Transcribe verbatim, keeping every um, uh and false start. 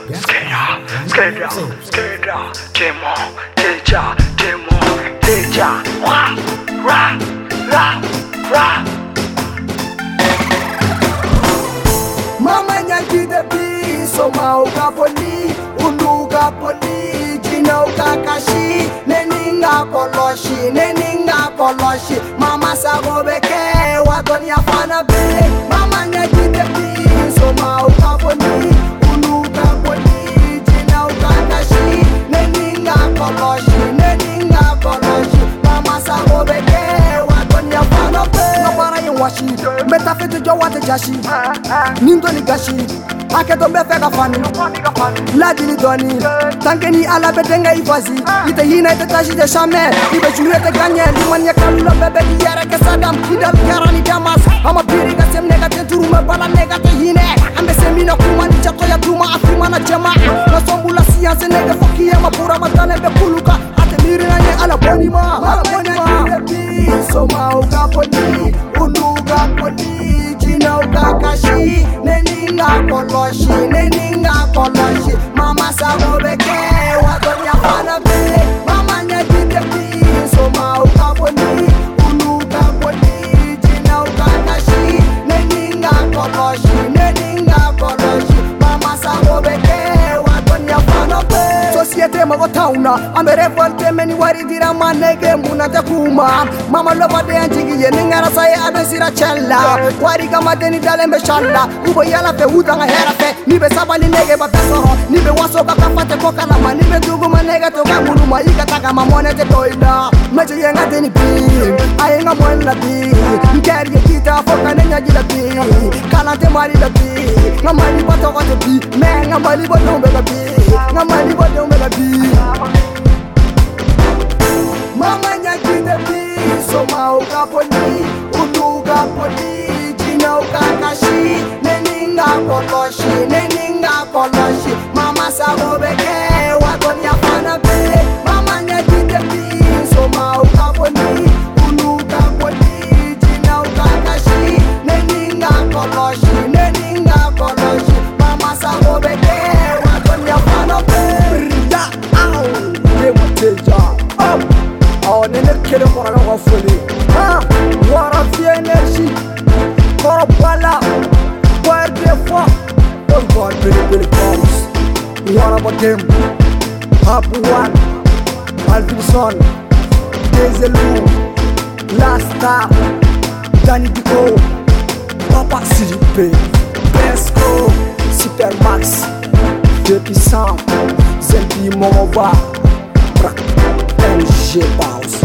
Skenya, skenya, skenya, demo, deja, demo, deja, ra, ra, ra, ra. Mama nyaki de bi, so mauka poli, uluga poli, jina ukakashi, neninga koloshi, neninga koloshi. Mama sago beke, watoni afana be. Mama nyaki de bi, so mauka poli, uluga poli, jina ukakashi, neninga koloshi, neninga koloshi. Mama sago beke, watoni afana be. Ngapara yin washi, meta fete jo wate jashi, nindo ni gashi. Aketo mbe feka fani, ladini doni. Tanke ni ala bedenga ifazi, ite hina ite tashi de shame. Ibe chule te ganye, liman ya kalulo bebe di yere ke sadam. Ida kara ni damas, ama piri ka sem nega te turu me bala nega te hine. Ambe semina kuma ni chato ya duma afima na jema. Na sombula siyanse nega foki ya mapura matane be kuluka. Ate miri na nye ala boni ma, ala boni ma. So mauka poni, unuga poni, jina ukakashi. Neninga koloshi, neninga koloshi. Mama sago beke, watonya fana be. Mama nyakite pi, so mauka poni, unuga poni, jina ukakashi. Neninga koloshi, neninga koloshi. Mama sago beke, watonya fana be. Societe mago tauna, amere volte meni wari dira manege muna te kuma. Mama lova de anjigi ye ningara saye adesira chella. Wari kama deni dale mbeshalla. Ubo yala fe udanga hera fe. Nibe sabali nege ba pesoho. Nibe waso baka fate koka lama. Nibe dugu manege toka muruma. Ika taka mamone te toida. Meche yenga deni bi. Ayenga mwena bi. Nkeri ye kita foka nenya jila bi. Kalante mali la bi. Ngamali bato kote bi. Me ngamali bote umbega bi. Ngamali bote umbega bi. Mama nyaki de bi, so mauka poni, unuga poni, jina ukakashi, neninga koloshi, neninga koloshi. Mama sago beke, watoni afana be. Mama nyaki de bi, so mauka poni, unuga poni, jina ukakashi, neninga koloshi, neninga koloshi. Mama sago beke, watoni afana be. Rida au, demo teja, up. Oh, nene kele kora na wafuli. Ah, wara fi energy. Kora bala. Where they for? Oh God, Billy Billy comes. What about them? Happy one. Alvinson. Dezelu. Last stop. Danny Dico. Papa Siripe. Pesco. Supermax. Depuis cent. Zempi Momova. N G Bounce.